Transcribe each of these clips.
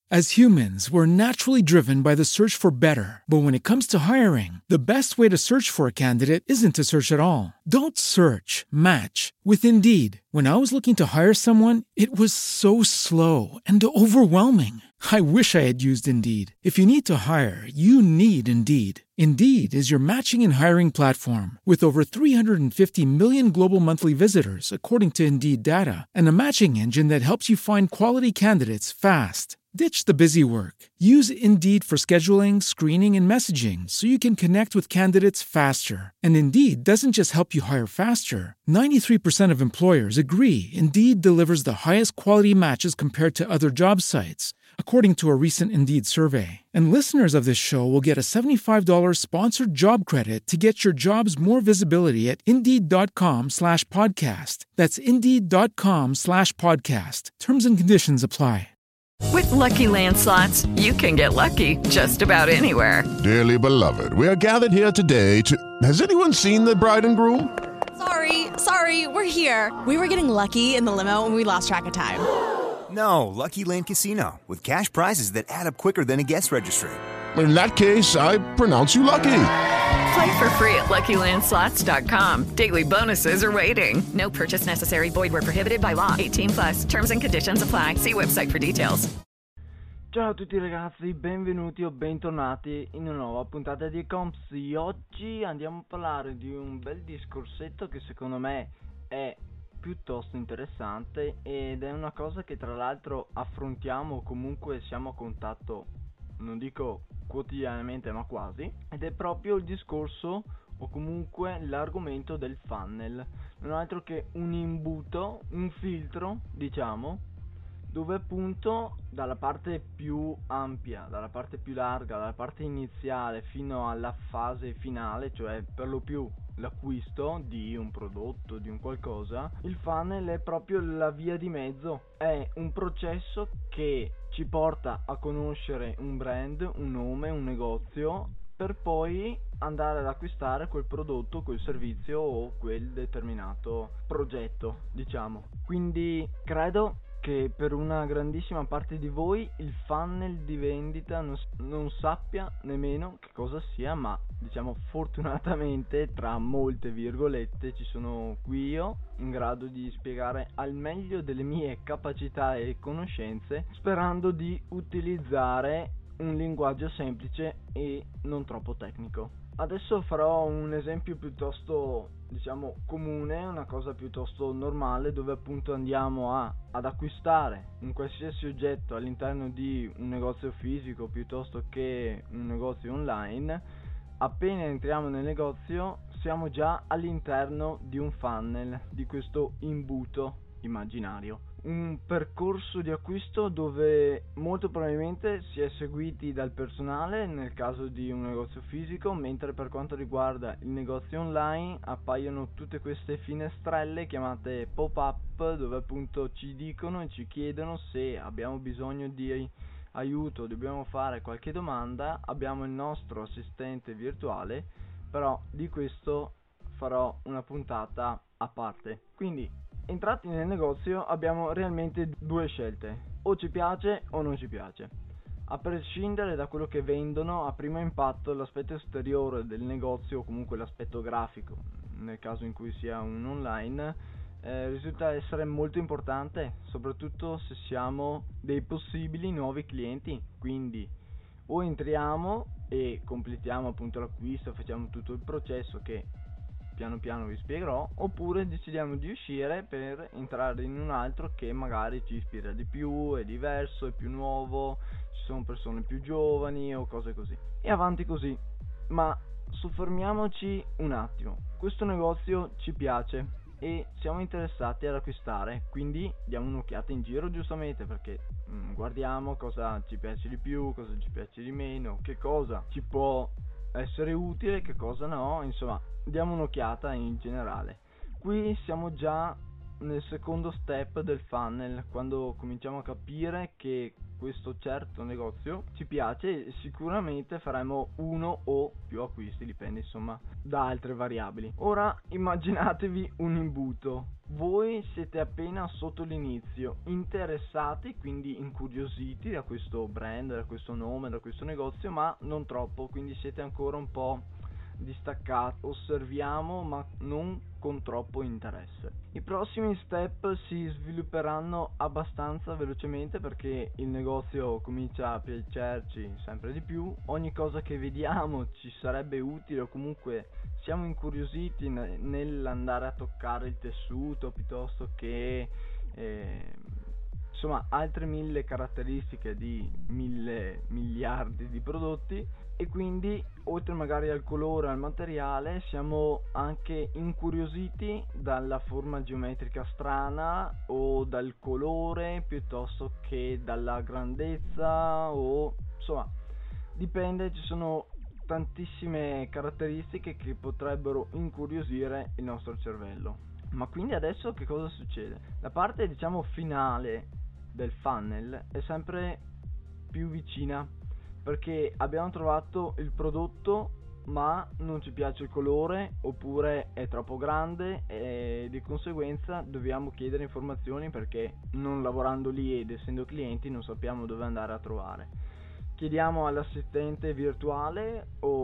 As humans, we're naturally driven by the search for better. But when it comes to hiring, the best way to search for a candidate isn't to search at all. Don't search, match with Indeed. When I was looking to hire someone, it was so slow and overwhelming. I wish I had used Indeed. If you need to hire, you need Indeed. Indeed is your matching and hiring platform with over 350 million global monthly visitors, according to Indeed data, and a matching engine that helps you find quality candidates fast. Ditch the busy work. Use Indeed for scheduling, screening, and messaging so you can connect with candidates faster. And Indeed doesn't just help you hire faster. 93% of employers agree Indeed delivers the highest quality matches compared to other job sites, according to a recent Indeed survey. And listeners of this show will get a $75 sponsored job credit to get your jobs more visibility at Indeed.com/podcast. That's Indeed.com/podcast. Terms and conditions apply. With Lucky Land Slots, you can get lucky just about anywhere. Dearly beloved, we are gathered here today to... Has anyone seen the bride and groom? Sorry, we're here. We were getting lucky in the limo and we lost track of time. No, Lucky Land Casino, with cash prizes that add up quicker than a guest registry. In that case, I pronounce you lucky. Play for free at LuckyLandSlots.com. Daily bonuses are waiting. No purchase necessary. Void where prohibited by law. 18+. Terms and conditions apply. See website for details. Ciao a tutti ragazzi, benvenuti o bentornati in una nuova puntata di Compsy. Oggi andiamo a parlare di un bel discorsetto che secondo me è piuttosto interessante ed è una cosa che tra l'altro affrontiamo o comunque siamo a contatto, non dico quotidianamente ma quasi, ed è proprio il discorso o comunque l'argomento del funnel, non altro che un imbuto, un filtro diciamo, dove appunto dalla parte più ampia, dalla parte più larga, dalla parte iniziale fino alla fase finale, cioè per lo più l'acquisto di un prodotto, di un qualcosa, il funnel è proprio la via di mezzo, è un processo che ci porta a conoscere un brand, un nome, un negozio, per poi andare ad acquistare quel prodotto, quel servizio o quel determinato progetto, diciamo. Quindi credo che per una grandissima parte di voi il funnel di vendita non sappia nemmeno che cosa sia, ma diciamo fortunatamente tra molte virgolette ci sono qui io in grado di spiegare al meglio delle mie capacità e conoscenze, sperando di utilizzare un linguaggio semplice e non troppo tecnico. Adesso farò un esempio piuttosto, diciamo, comune, una cosa piuttosto normale, dove appunto andiamo ad acquistare un qualsiasi oggetto all'interno di un negozio fisico piuttosto che un negozio online. Appena entriamo nel negozio siamo già all'interno di un funnel, di questo imbuto immaginario. Un percorso di acquisto dove molto probabilmente si è seguiti dal personale nel caso di un negozio fisico, mentre per quanto riguarda il negozio online appaiono tutte queste finestrelle chiamate pop-up, dove appunto ci dicono e ci chiedono se abbiamo bisogno di aiuto, dobbiamo fare qualche domanda. Abbiamo il nostro assistente virtuale, però di questo farò una puntata a parte. Quindi entrati nel negozio abbiamo realmente due scelte: o ci piace o non ci piace. A prescindere da quello che vendono, a primo impatto l'aspetto esteriore del negozio o comunque l'aspetto grafico, nel caso in cui sia un online, risulta essere molto importante, soprattutto se siamo dei possibili nuovi clienti. Quindi o entriamo e completiamo appunto l'acquisto, facciamo tutto il processo che piano piano vi spiegherò, oppure decidiamo di uscire per entrare in un altro che magari ci ispira di più, è diverso, è più nuovo, ci sono persone più giovani o cose così, e avanti così. Ma soffermiamoci un attimo. Questo negozio ci piace e siamo interessati ad acquistare, quindi diamo un'occhiata in giro, giustamente, perché guardiamo cosa ci piace di più, cosa ci piace di meno, che cosa ci può essere utile, che cosa no, insomma diamo un'occhiata in generale. Qui siamo già nel secondo step del funnel, quando cominciamo a capire che questo certo negozio ci piace e sicuramente faremo uno o più acquisti, dipende insomma da altre variabili. Ora immaginatevi un imbuto. Voi siete appena sotto l'inizio, interessati, quindi incuriositi da questo brand, da questo nome, da questo negozio, ma non troppo, quindi siete ancora un po' distaccati, osserviamo ma non con troppo interesse. I prossimi step si svilupperanno abbastanza velocemente perché il negozio comincia a piacerci sempre di più, ogni cosa che vediamo ci sarebbe utile o comunque siamo incuriositi nell'andare a toccare il tessuto piuttosto che insomma altre 1000 caratteristiche di 1000 miliardi di prodotti, e quindi oltre magari al colore e al materiale siamo anche incuriositi dalla forma geometrica strana o dal colore piuttosto che dalla grandezza, o insomma dipende, ci sono tantissime caratteristiche che potrebbero incuriosire il nostro cervello. Ma quindi adesso che cosa succede? La parte diciamo finale del funnel è sempre più vicina perché abbiamo trovato il prodotto ma non ci piace il colore oppure è troppo grande e di conseguenza dobbiamo chiedere informazioni perché non lavorando lì ed essendo clienti non sappiamo dove andare a trovare. Chiediamo all'assistente virtuale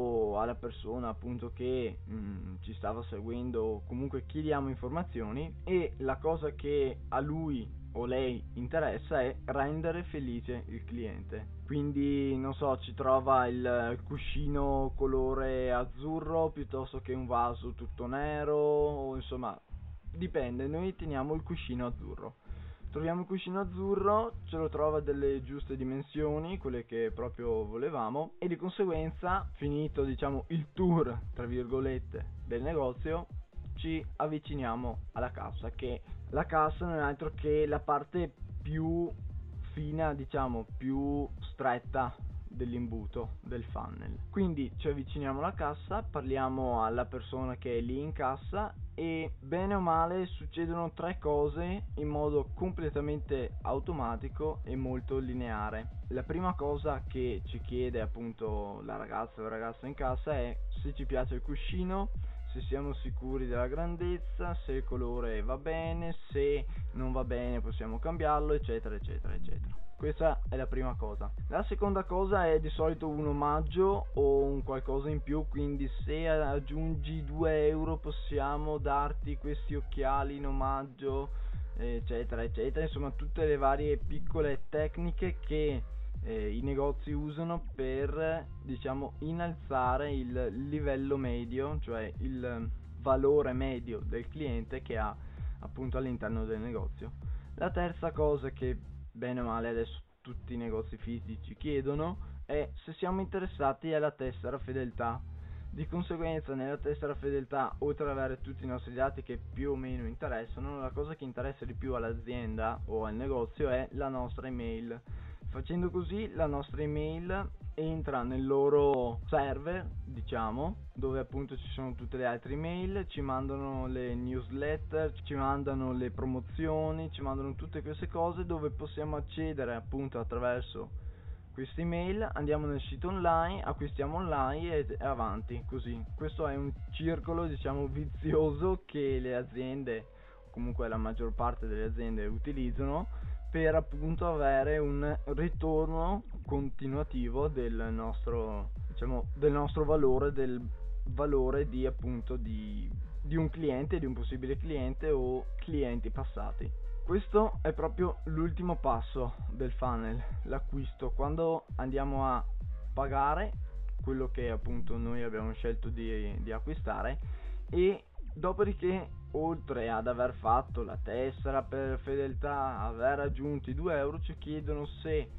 o alla persona appunto che ci stava seguendo, comunque chiediamo informazioni e la cosa che a lui o lei interessa è rendere felice il cliente. Quindi non so, ci trova il cuscino colore azzurro piuttosto che un vaso tutto nero, o insomma dipende, noi teniamo il cuscino azzurro. Troviamo il cuscino azzurro, ce lo trova delle giuste dimensioni, quelle che proprio volevamo, e di conseguenza, finito diciamo il tour tra virgolette del negozio, ci avviciniamo alla cassa, che la cassa non è altro che la parte più fina, diciamo più stretta dell'imbuto del funnel. Quindi ci avviciniamo alla cassa, parliamo alla persona che è lì in cassa e bene o male succedono 3 cose in modo completamente automatico e molto lineare. La prima cosa che ci chiede appunto la ragazza o il ragazzo in cassa è se ci piace il cuscino, se siamo sicuri della grandezza, se il colore va bene, se non va bene possiamo cambiarlo, eccetera eccetera eccetera. Questa è la prima cosa. La seconda cosa è di solito un omaggio o un qualcosa in più, quindi se aggiungi 2 euro possiamo darti questi occhiali in omaggio, eccetera eccetera. Insomma tutte le varie piccole tecniche che i negozi usano per diciamo innalzare il livello medio, cioè il valore medio del cliente che ha appunto all'interno del negozio. La terza cosa che bene o male adesso tutti i negozi fisici chiedono è se siamo interessati alla tessera fedeltà. Di conseguenza nella tessera fedeltà, oltre ad avere tutti i nostri dati che più o meno interessano, la cosa che interessa di più all'azienda o al negozio è la nostra email. Facendo così la nostra email entra nel loro server, diciamo, dove appunto ci sono tutte le altre email, ci mandano le newsletter, ci mandano le promozioni, ci mandano tutte queste cose dove possiamo accedere appunto attraverso queste email, andiamo nel sito online, acquistiamo online e avanti così. Questo è un circolo diciamo vizioso che le aziende, o comunque la maggior parte delle aziende utilizzano per appunto avere un ritorno continuativo del nostro, diciamo, del nostro valore, del valore di appunto di un cliente, di un possibile cliente o clienti passati. Questo è proprio l'ultimo passo del funnel, l'acquisto, quando andiamo a pagare quello che appunto noi abbiamo scelto di acquistare, e dopodiché oltre ad aver fatto la tessera per fedeltà, aver aggiunto i 2 euro, ci chiedono se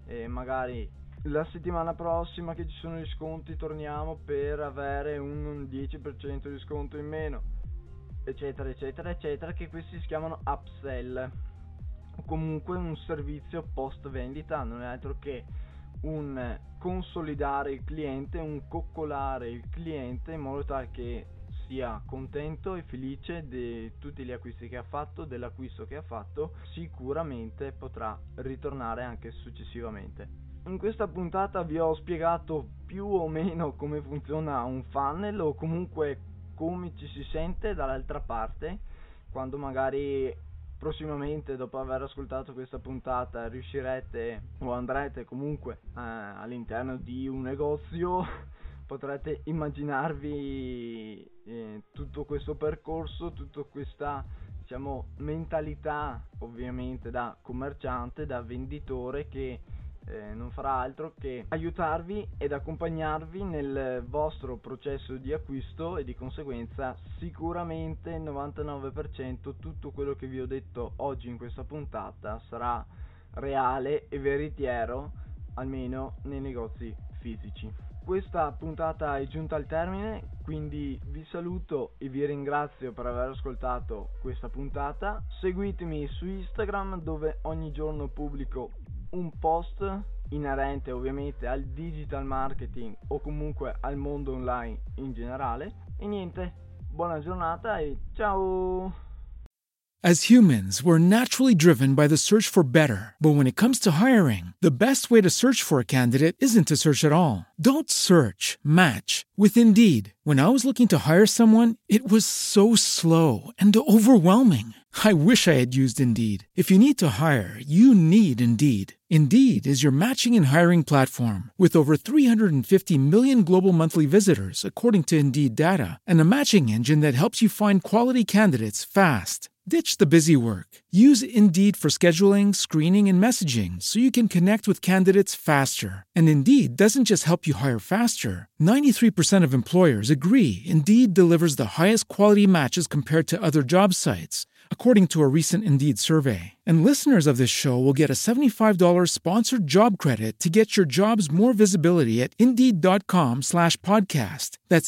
magari la settimana prossima che ci sono gli sconti torniamo per avere un 10% di sconto in meno, eccetera eccetera eccetera, che questi si chiamano upsell o comunque un servizio post vendita. Non è altro che un consolidare il cliente, un coccolare il cliente in modo tale che sia contento e felice di tutti gli acquisti che ha fatto, dell'acquisto che ha fatto. Sicuramente potrà ritornare anche successivamente. In questa puntata vi ho spiegato più o meno come funziona un funnel, o comunque come ci si sente dall'altra parte quando magari prossimamente, dopo aver ascoltato questa puntata, riuscirete o andrete comunque all'interno di un negozio. Potrete immaginarvi tutto questo percorso, tutta questa, diciamo, mentalità ovviamente da commerciante, da venditore, che non farà altro che aiutarvi ed accompagnarvi nel vostro processo di acquisto, e di conseguenza sicuramente il 99% tutto quello che vi ho detto oggi in questa puntata sarà reale e veritiero, almeno nei negozi fisici. Questa puntata è giunta al termine, quindi vi saluto e vi ringrazio per aver ascoltato questa puntata. Seguitemi su Instagram, dove ogni giorno pubblico un post inerente ovviamente al digital marketing o comunque al mondo online in generale. E niente, buona giornata e ciao! As humans, we're naturally driven by the search for better. But when it comes to hiring, the best way to search for a candidate isn't to search at all. Don't search, match with Indeed. When I was looking to hire someone, it was so slow and overwhelming. I wish I had used Indeed. If you need to hire, you need Indeed. Indeed is your matching and hiring platform with over 350 million global monthly visitors, according to Indeed data, and a matching engine that helps you find quality candidates fast. Ditch the busy work. Use Indeed for scheduling, screening, and messaging so you can connect with candidates faster. And Indeed doesn't just help you hire faster. 93% of employers agree Indeed delivers the highest quality matches compared to other job sites, according to a recent Indeed survey. And listeners of this show will get a $75 sponsored job credit to get your jobs more visibility at Indeed.com/podcast. That's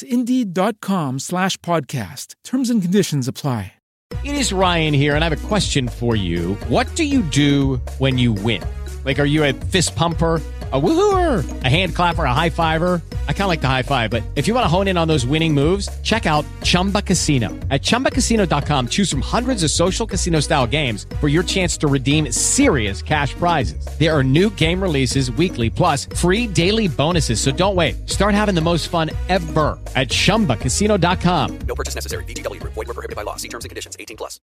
Indeed.com/podcast. Terms and conditions apply. It is Ryan here, and I have a question for you. What do you do when you win? Like, are you a fist pumper, a woohooer, a hand clapper, a high fiver? I kind of like the high five, but if you want to hone in on those winning moves, check out Chumba Casino. At ChumbaCasino.com, choose from hundreds of social casino-style games for your chance to redeem serious cash prizes. There are new game releases weekly, plus free daily bonuses. So don't wait. Start having the most fun ever at ChumbaCasino.com. No purchase necessary. VGW Group. Void where prohibited by law. See terms and conditions. 18+.